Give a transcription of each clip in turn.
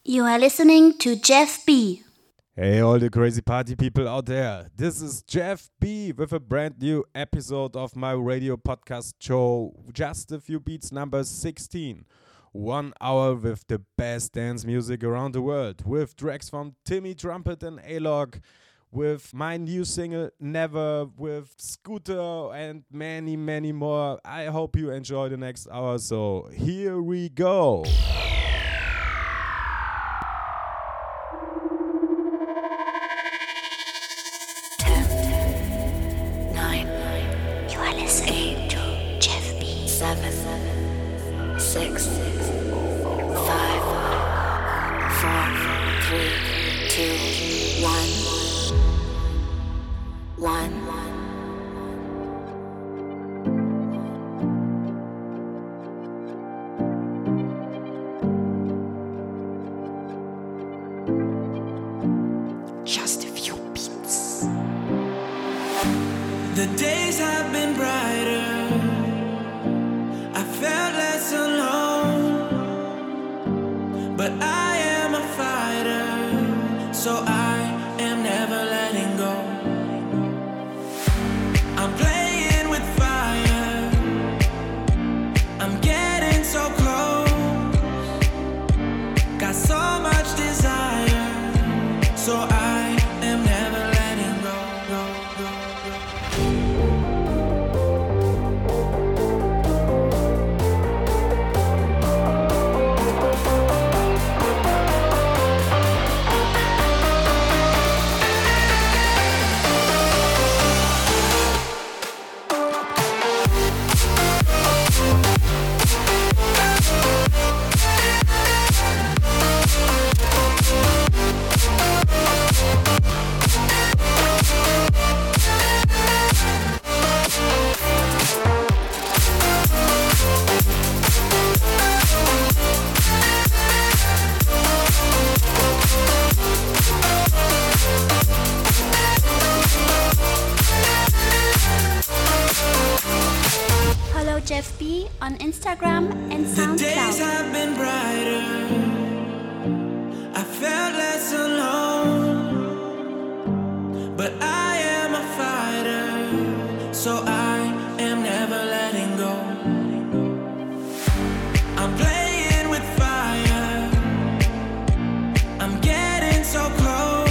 You are listening to Jeff B. Hey, all the crazy party people out there. This is Jeff B with a brand new episode of my radio podcast show, Just a Few Beats number 16. 1 hour with the best dance music around the world, with tracks from Timmy Trumpet and A-Log, with my new single Never, with Scooter and many, many more. I hope you enjoy the next hour, so here we go. The days have been brighter. I felt less alone. But I am a fighter, so I am never letting go. I'm playing with fire. I'm getting so close. Got so much desire, so I am never letting go. Jeff B on Instagram and SoundCloud. The days have been brighter. I felt less alone. But I am a fighter, so I am never letting go. I'm playing with fire. I'm getting so close.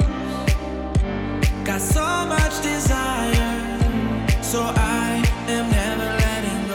Got so much desire, so I am never letting go.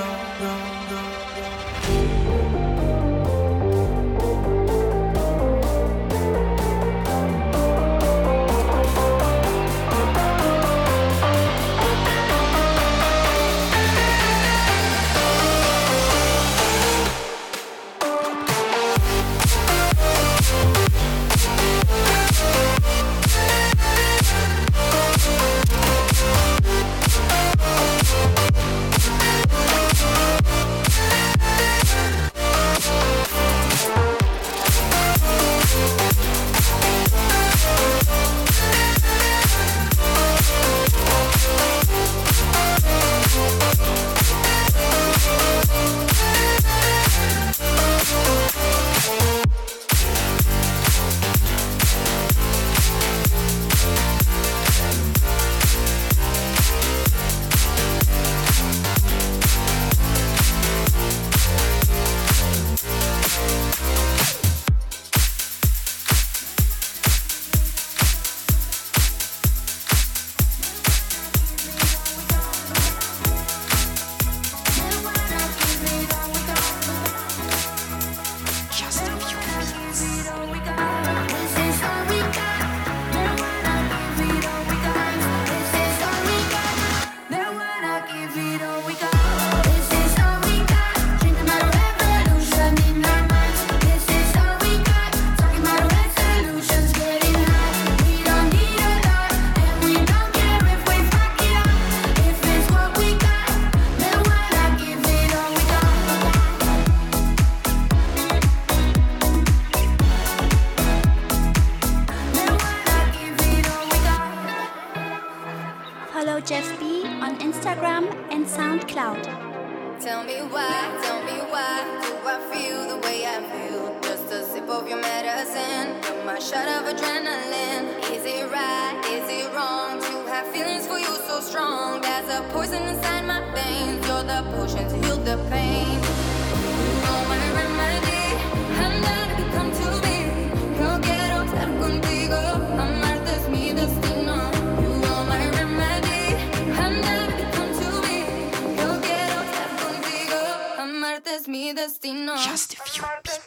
Jeff B on Instagram and SoundCloud. Tell me why do I feel the way I feel? Just a sip of your medicine. dozen. You're my shot of adrenaline. Is it right? Is it wrong to have feelings for you so strong? There's a poison inside my veins. You're the potion to heal the pain. Oh, my remedy. Andar que come to me. Yo quiero estar contigo. Amarte es mi destino. You are my remedy. Andar que come to me. Yo quiero estar contigo. Amarte es mi destino. Just a few beats.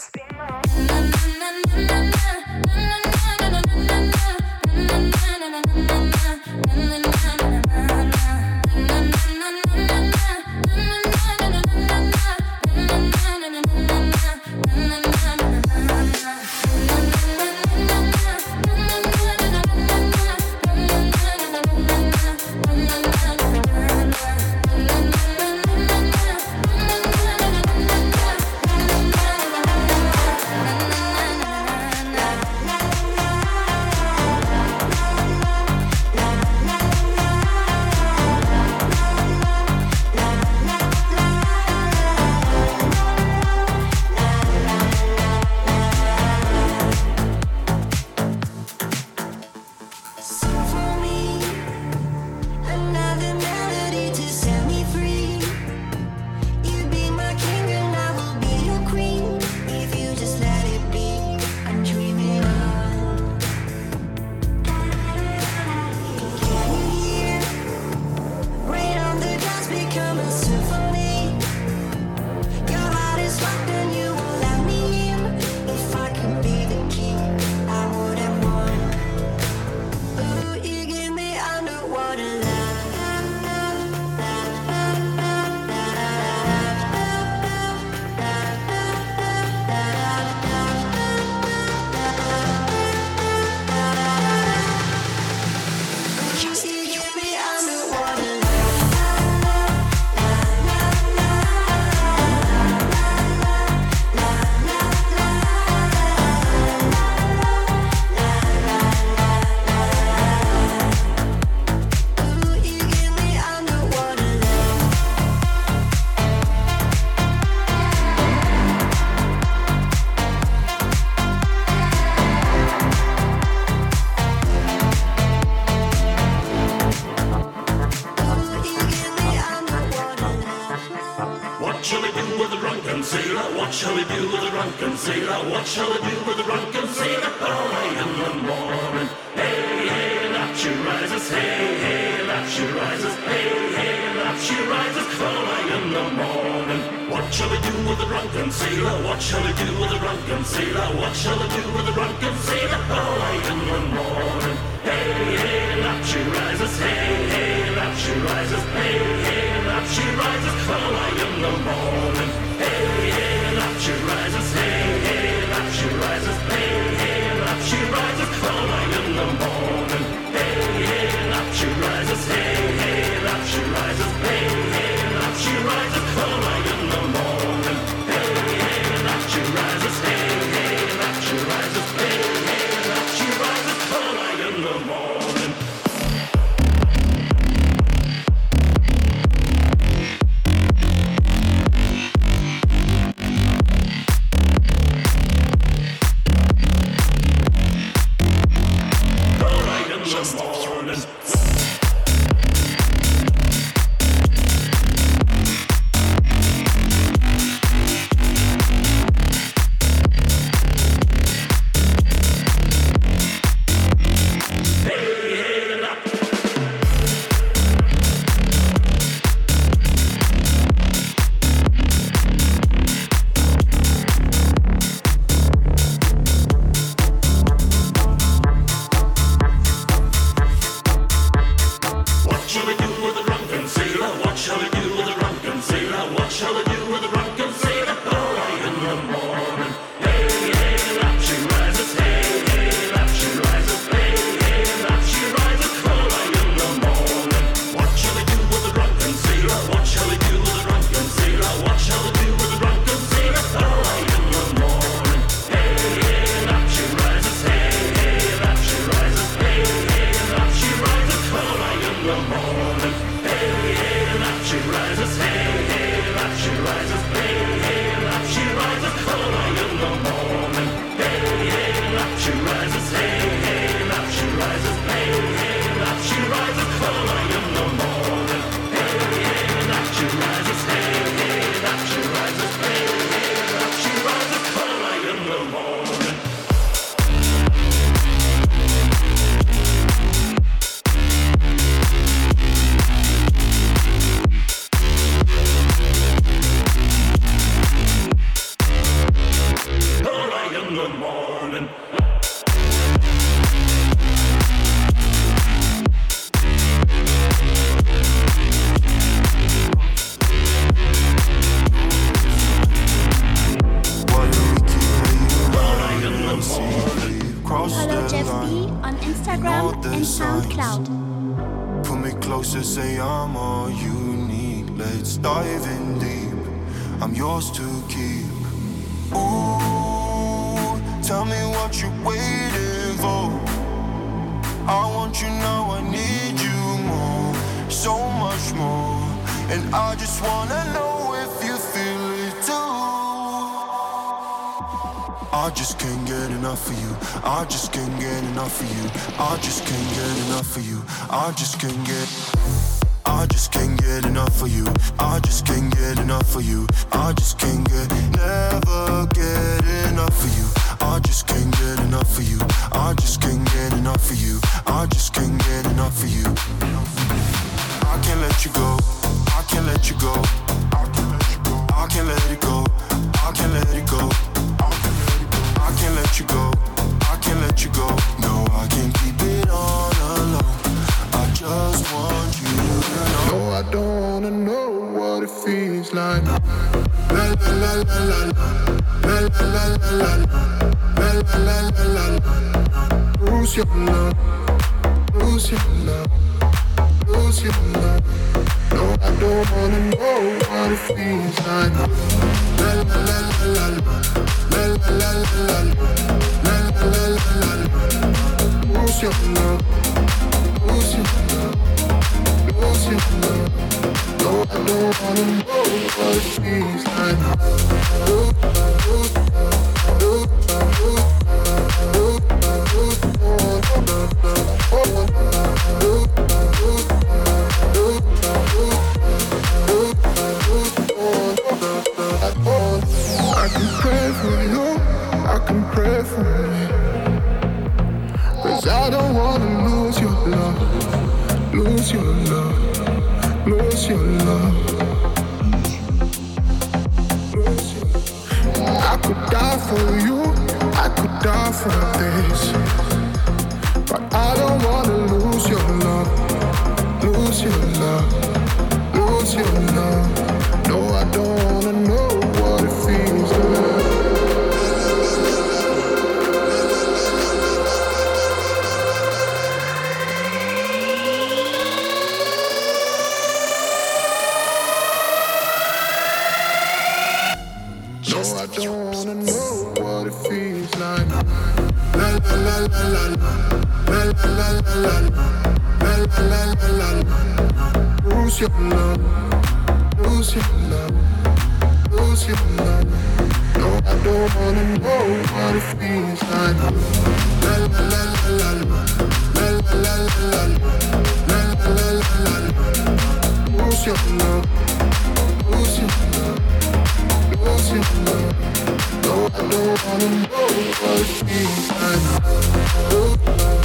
What shall we do with the drunken sailor? What shall we do with the drunken sailor? What shall we do with the drunken sailor? Early in the morning. Hey, hey, up she rises. Hey, hey, up she rises. Hey, hey, up she rises. Early in the morning. What shall we do with the drunken sailor? What shall we do with the drunken sailor? What shall we do with the drunken sailor? Early in the morning. Hey, hey, up she rises. Hey, hey, up she rises. Hey, hey, up she rises. Early in the morning. Hey, hey, up she rises. Hey, hey, up she rises. Hey, hey, up she rises. Early in the morning. Hey, hey, up she rises. Hey, hey, up she rises. Hey, hey, up she rises. Early in the morning. Hey, hey, up she rises. Hey, hey, up she rises. Hey, hey, up she rises. Early in the morning. the morning. Follow Jeff B on Instagram and SoundCloud. Put me closer, say I'm all you need. Let's dive in deep. I'm yours to keep. Ooh, tell me what you're waiting for. I want you now, I need you more, so much more. And I just wanna know if you feel it too. I just can't get enough of you. I just can't get enough of you. I just can't get enough of you. I just can't get. I just can't get enough of you. I just can't get enough of you. I just can't get, never get enough of you. I just can't get enough of you. I just can't get enough of you. I just can't get enough of you. I can't let you go. I can't let you go. I can't let you go. I can't let it go. I can't let it go. I can't let you go. I can't let you go. No, I can't keep it on alone. I just want you to know. No, I don't wanna know what it feels like. La la la la la la la la la la la la la la. Lose your love, lose your love, lose your love. No, I don't wanna know what it feels like. La la la la la la la la la la la la la. Lose your love, lose your love, lose your love. No, I don't wanna know what it feels like. I can pray for you, I can pray for me, 'cause I don't wanna lose your love, lose your love, lose your love. I could die for you, I could die for this, but I don't wanna lose your love, lose your love, lose your love. No, I don't wanna know what it feels like. No, I don't wanna know what it feels like. La la la la la la la la la la la la la. Lose your love, lose your love, lose your love. No, I don't wanna know what it feels like. La la la la la la la la la la la la. Lose your love, lose your love, lose your love. No, I don't wanna know what it feels like.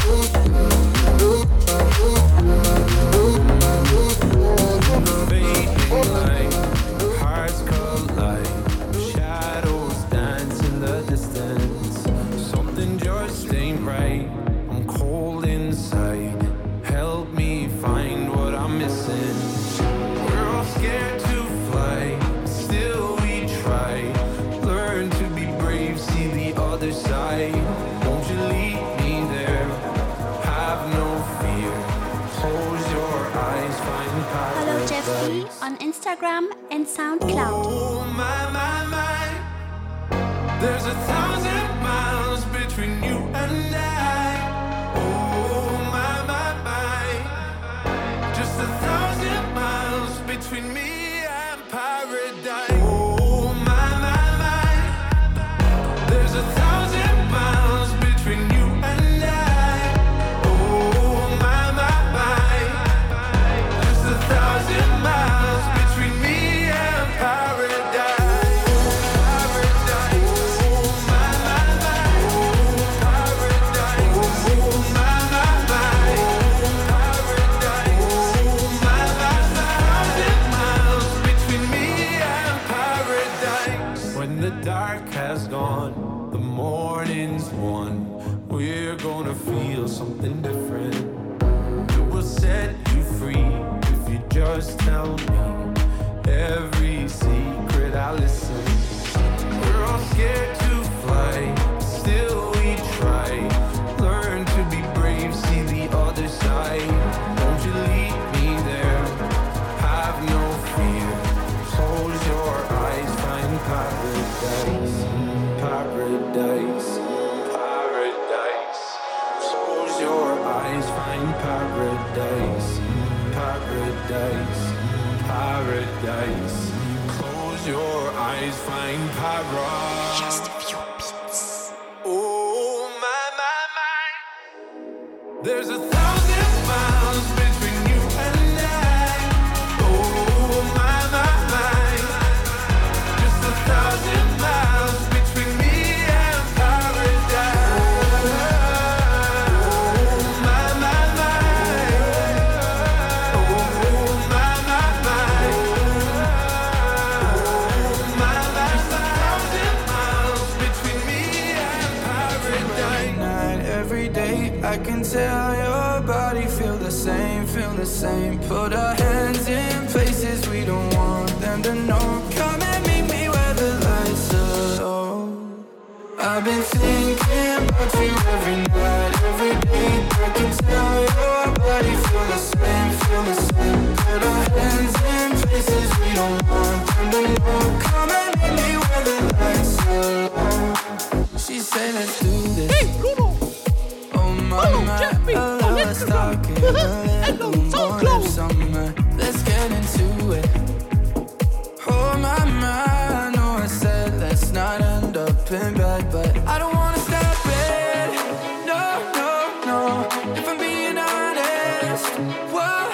Fading light, hearts collide, shadows dance in the distance. Something just ain't right, I'm cold inside. Help me find what I'm missing. We're all scared to fly, still we try. Learn to be brave, see the other side. Won't you lead me there? Have no fear. Close your eyes, find Follow Jeff B paradise. on Instagram and SoundCloud. Oh my, my, my. There's 1,000 miles between you and I. Oh my, my, my. Just 1,000 miles between me and paradise. Oh my, my, my. There's 1,000 miles between you and I. Oh my, my, my. Just 1,000 miles between me and paradise. Paradise. Oh my, my, my. Paradise. Oh my, the morning's won. We're gonna feel something different. It will set you free if you just tell me every secret I listen. We're all scared to fly, still we try. Learn to be brave, see the other side. Won't you lead me there? Have no fear. Close your eyes, find paradise. Paradise. Paradise. Close your eyes, find paradise. Paradise. Paradise. Close your eyes, find paradise. Just a few beats. Oh my, my, my. There's 1,000 miles between you and I. Oh my, my, my. Just 1,000 miles between me and paradise. Oh my, my, my. Oh my, my, my. Oh my, my, 1,000 miles between me and paradise. Night, every day, I can tell your body feel the same, feel the same. Put our hands in places we don't want them to know. Come and meet me where the lights are low. I've been thinking about you every night, every day. I can tell your body feel the same, feel the same. Put our hands in places we don't want them to know. Come and meet me where the lights are low. She said let's do this. Oh mama, I love us talking a little more this summer. Let's get into it. Oh mama, I know I said let's not end up in bed, but I don't wanna stop it. No, no, no. If I'm being honest, whoa.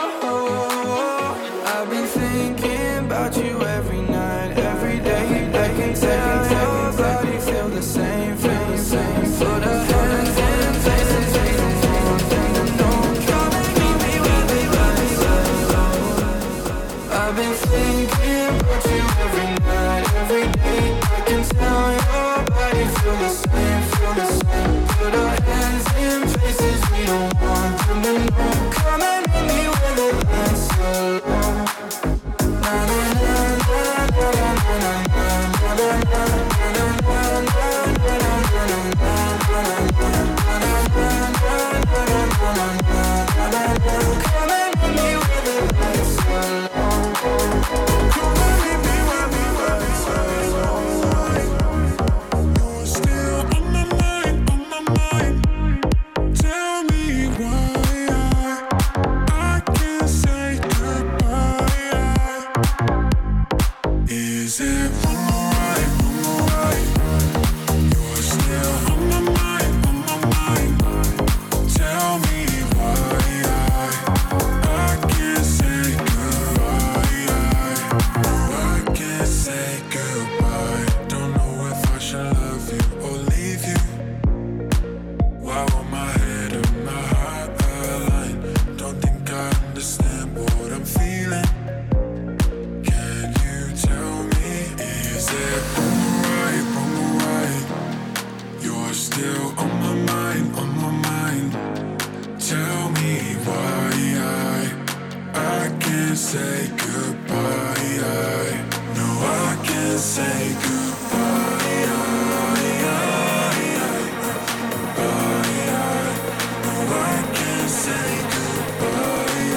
I've been thinking about you every night, every day. I can tell your body feel the same, feel the same. Put our hands in places we don't want them to know. Come and meet me where the lights are low. I've been thinking about you every night, every day. I can tell your body feel the same, feel the same. Put our hands in places we don't want them to know. Come and meet me where the lights are low. Na na na na na na na na na Come and meet me where the lights are low. Come and meet me where the lights are low. You're still on my mind, on my mind. Tell me why I can't say goodbye. Is it wrong or right, wrong or right? You're still on my mind, on my mind. Tell me why I can't say goodbye. I can't say goodbye. Don't know if I should love you or leave you. Why won't my head and my heart align? Don't think I understand what I'm feeling. Can you tell me? Is it wrong or right, wrong or right? You're still on my mind, on my mind. Tell me why I can't say goodbye. No, I can't say goodbye. No, I can't say goodbye.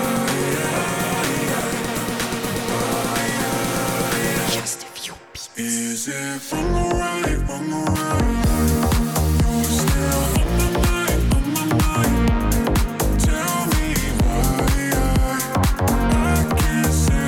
Just a few beats. Is it wrong or right, wrong or right? You're still on my mind, on my mind. Tell me why I can't say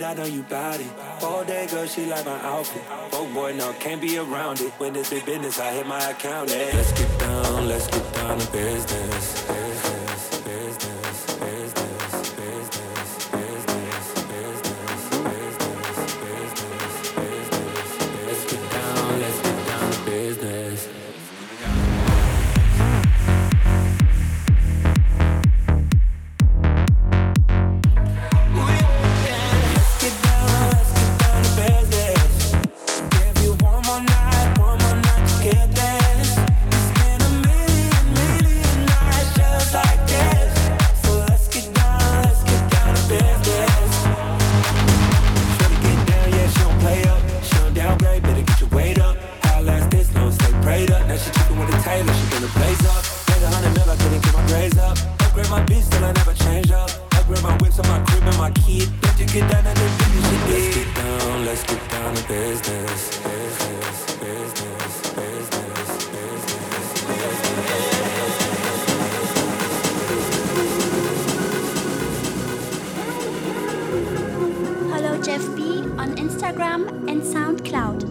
I know you bout it. All day, girl, she like my outfit. Broke boy, no, can't be around it. When it's big business, I hit my account. Yeah. Let's get down to business. Business, business, business, business, business, business, business, business, business. Let's get down to business. Follow Jeff B on Instagram and SoundCloud.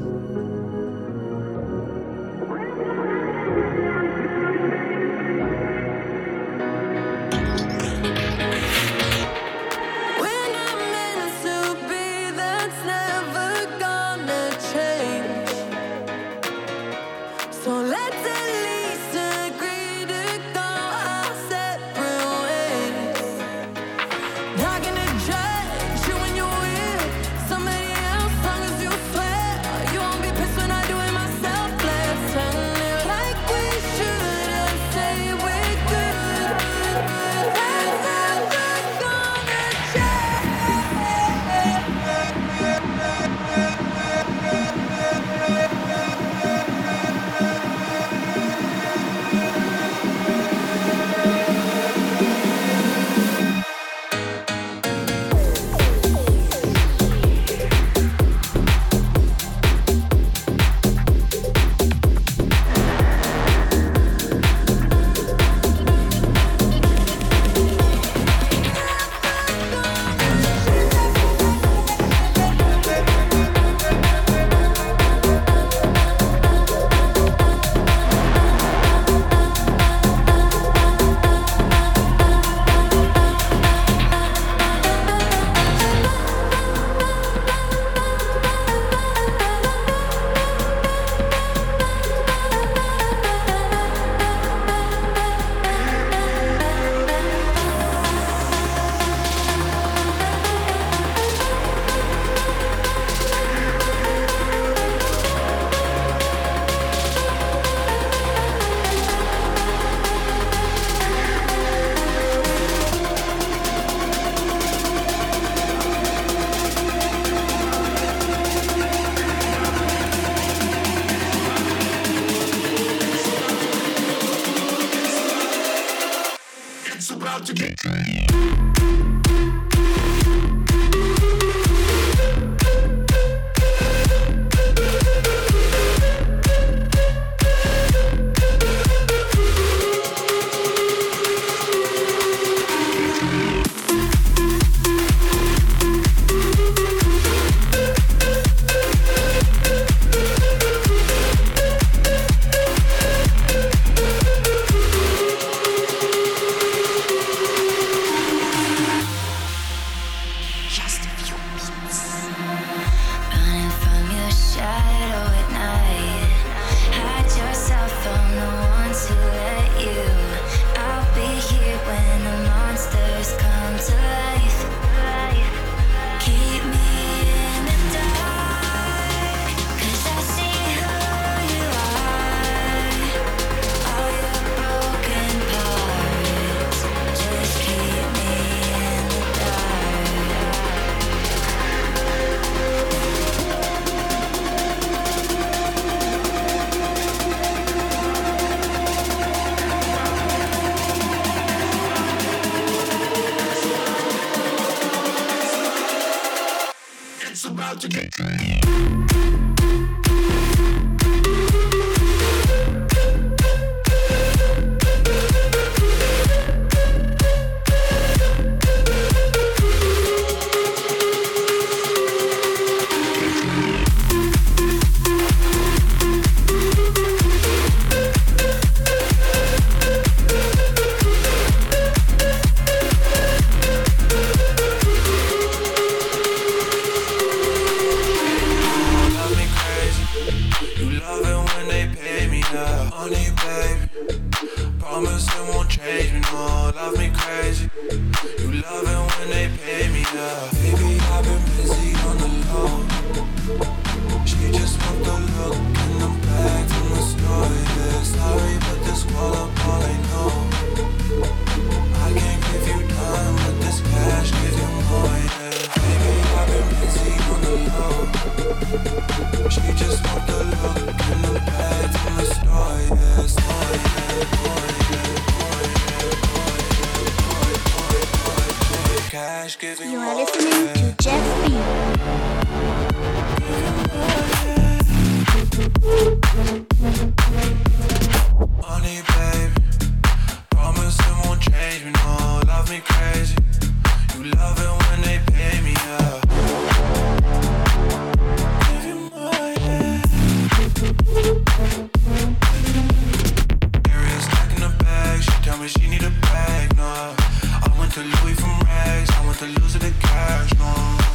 Promise it won't change me, no, love me crazy. You love it when they pay me, yeah. Baby, I've been busy on the low. She just want the look and the bag from the store, yeah. Sorry, but this wall up all I know. I can't give you time, but this cash gives you more, yeah. Baby, I've been busy on the low. She just want the look and the bag from the store, yeah. Store, yeah. Cash gives you You more, are listening to Jeff B. Honey, baby, promise it won't change me, no, love me crazy. You love it when they pay me, yeah. Give you more, yeah. Area stacking the bag, she tell me she need a bag, no. I went to Louis from rags, I went to losing the cash, no.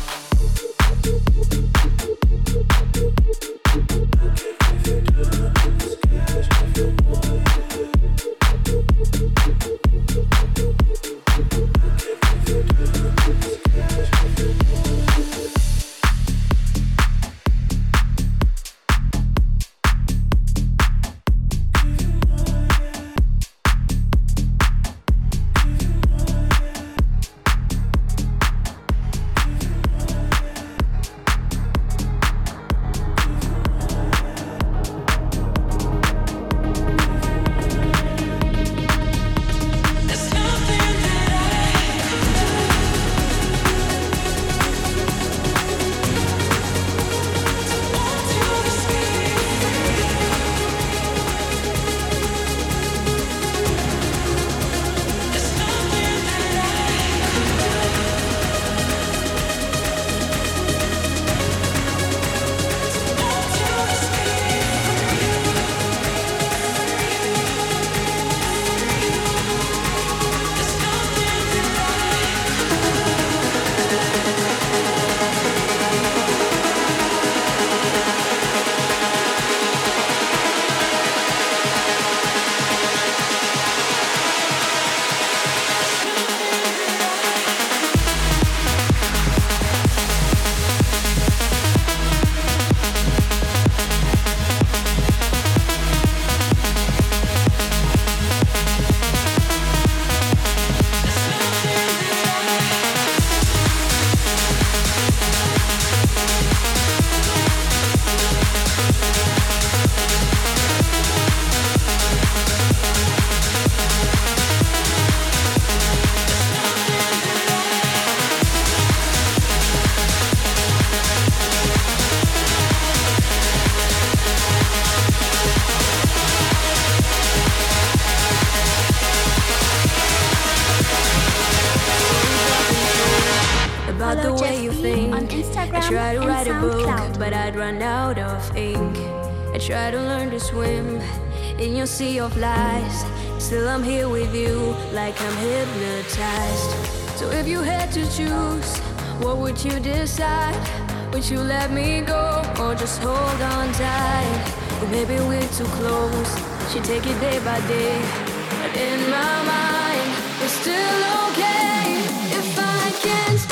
try to write a book, SoundCloud. but I'd run out of ink. I try to learn to swim in your sea of lies. Still I'm here with you, like I'm hypnotized. So if you had to choose, what would you decide? Would you let me go, or just hold on tight? Or maybe we're too close, should take it day by day. But in my mind, we're still okay. If I can stay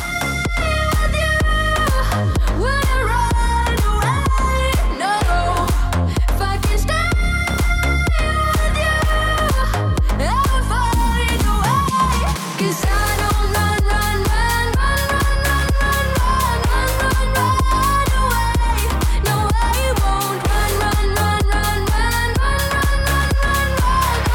with you, would I run away? No. If I can stay with you, I will find a way. 'Cause I don't run away. No, I won't run away.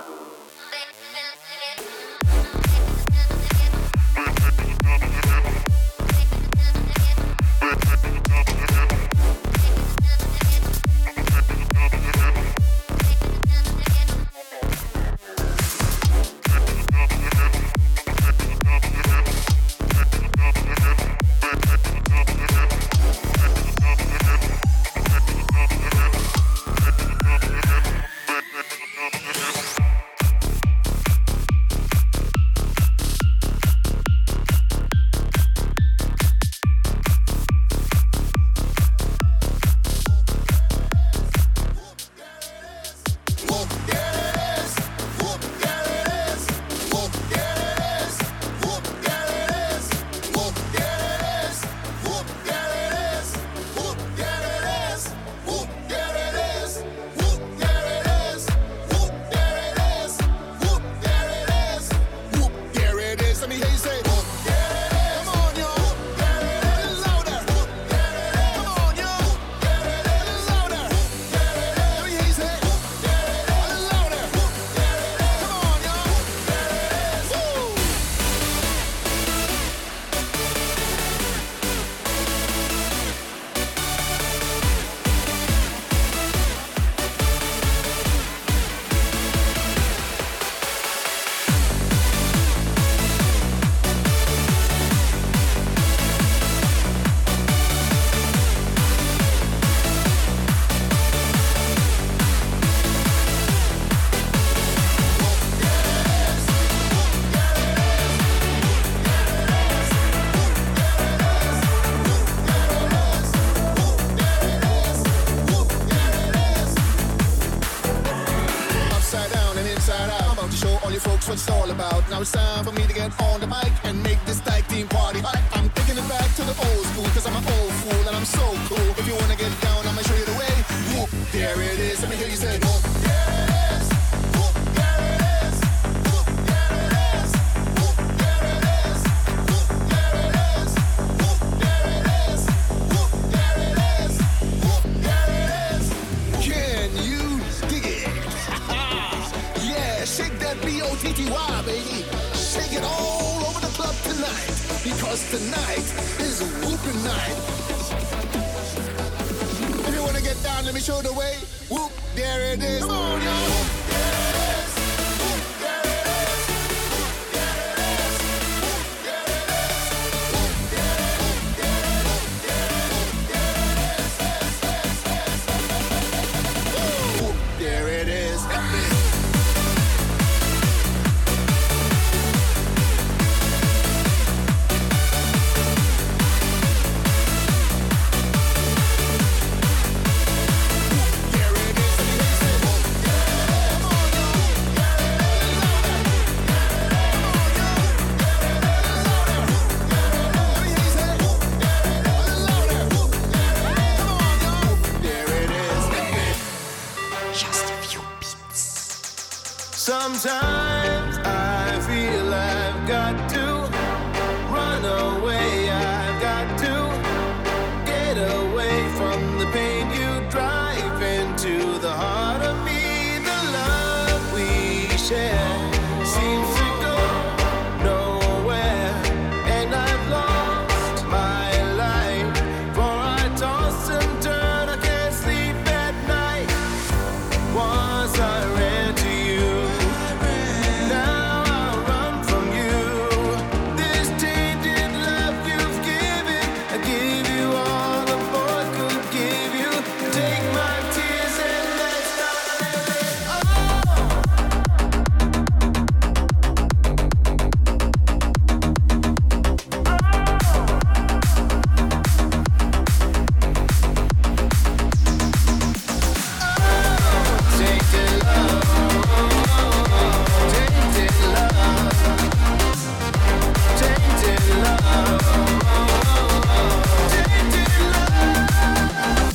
what it's all about. Now it's time for me to get on the mic and make this tag team party hot. I'm taking it back to the old school, cause I'm an old fool and I'm so cool. If you wanna get down, I'ma show you the way. Whoop, there it is. Let me hear you say, whoop, there it is. Whoop, there it is. Whoop, there it is. Whoop, there it is. Whoop, there it is. Whoop, there it is. Whoop, there it is. Whoop, there it is. Can you dig it? Yeah, shake that B-O-T-T-Y, baby. Shake it all over the club tonight, because tonight is a whooping night. If you wanna get down, let me show the way. Whoop, there it is. Come on, y'all. Whoop, there it is. Whoop, there it is. Whoop, there it is. Whoop, there it is. Whoop, there it is. Whoop, there it is. Whoop, there it is. Sometimes I feel I've got to run away, I've got to get away from the pain you drive into the heart of me. The love we share seems to go nowhere, and I've lost my life, for I toss and turn, I can't sleep at night. Once I ran to you, now I run from you. This tainted love you've given, I give you all the boy could give you. Take my tears and let's start living. Tainted love, tainted love, tainted love, tainted love.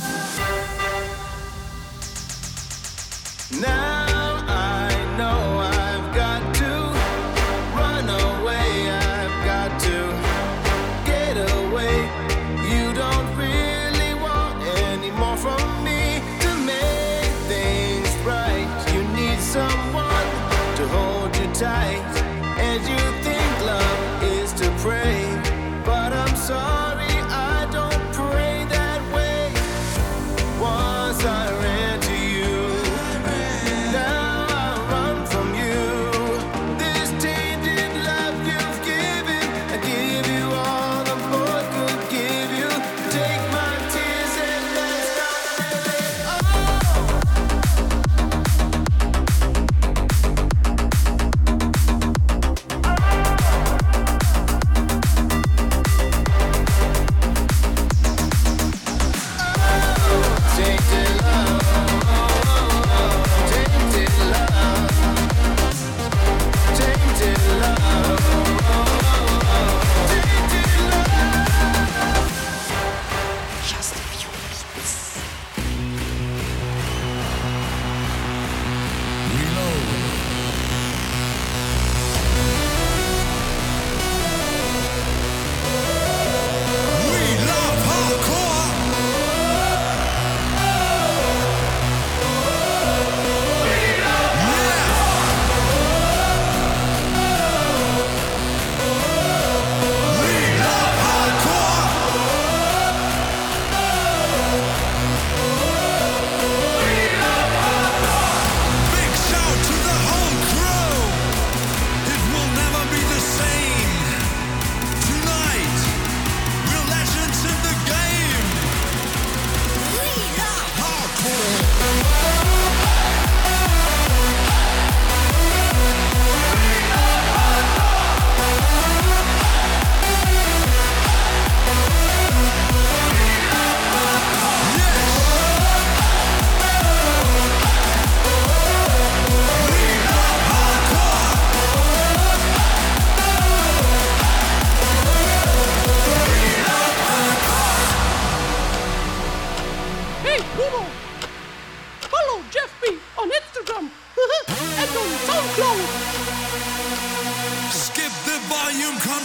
Now I know I've got to run away, I've got to get away. You don't really want any more from me to make things right. You need someone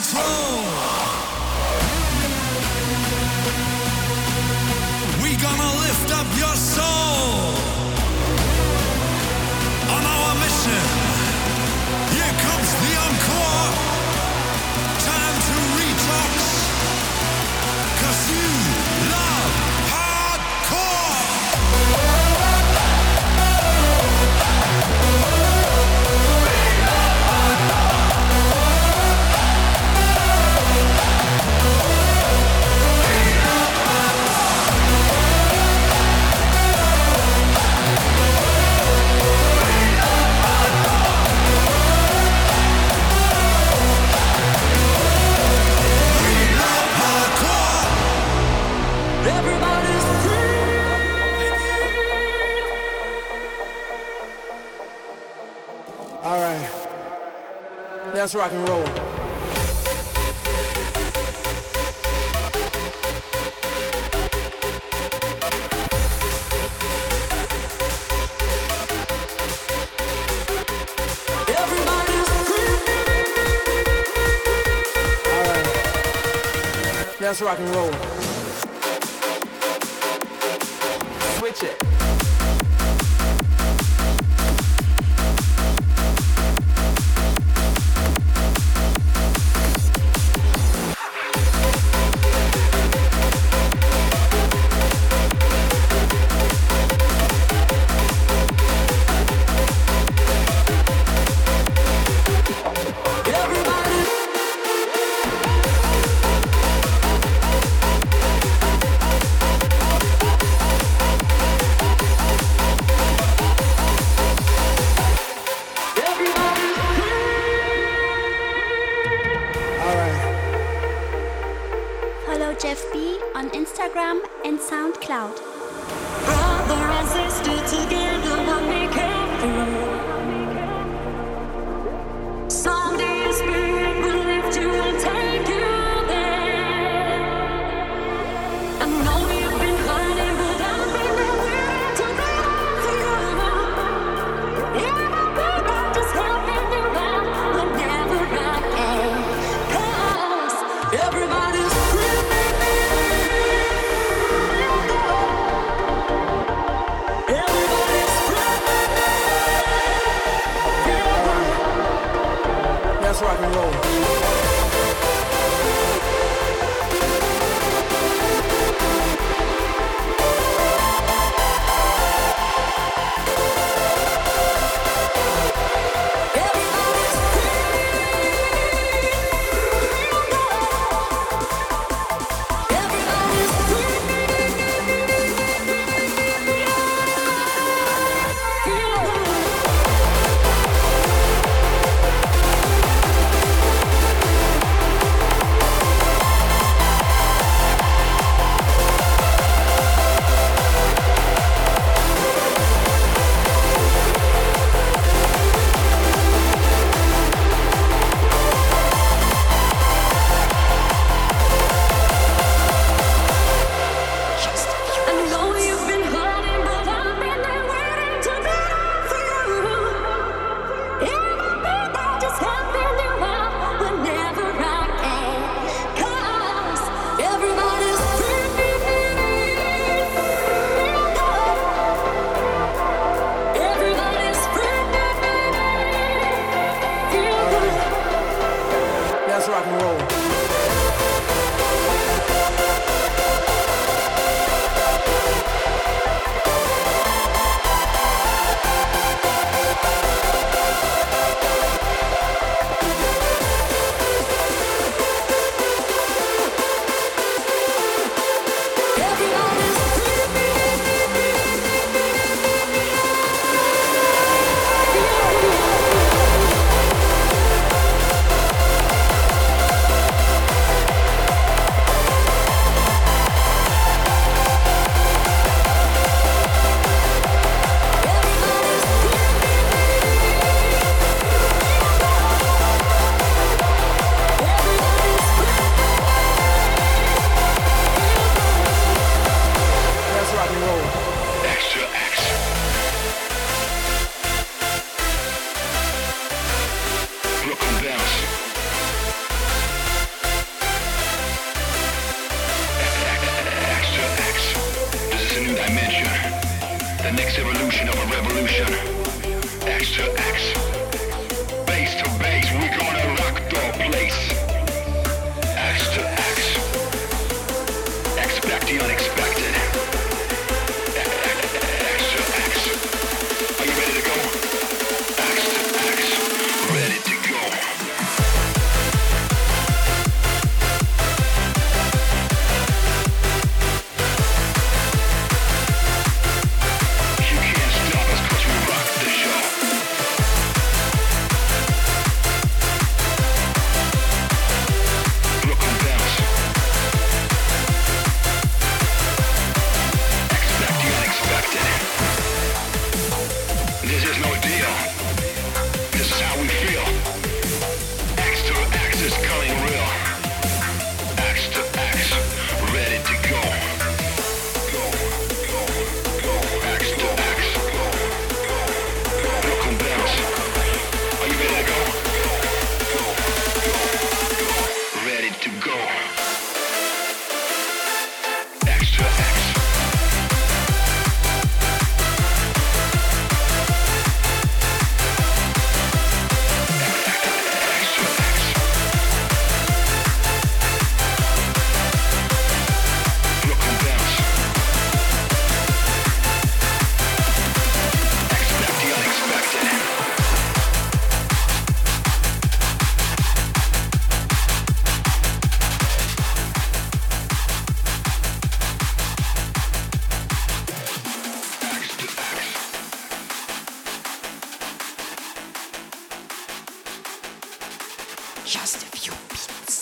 throne. We gonna lift up your soul on our mission. Here comes the encore. Time to retox, 'cause you love hardcore. Let's rock and roll. Everybody's free. All right. Let's rock and roll. Switch it. Follow Jeff B on Instagram and SoundCloud. Brother and sister together will make it through. Someday your spirit will lift you and take you there. I know you've been hiding, but I've been waiting to be for you. Yeah, baby, just helping you out whenever I can. 'Cause everybody's free. Let's rock and roll. of a revolution. X to X, base to base, we gonna rock the place. X to X, expect the unexpected. X to X, are you ready to go? X to X, ready to go. Just a few beats.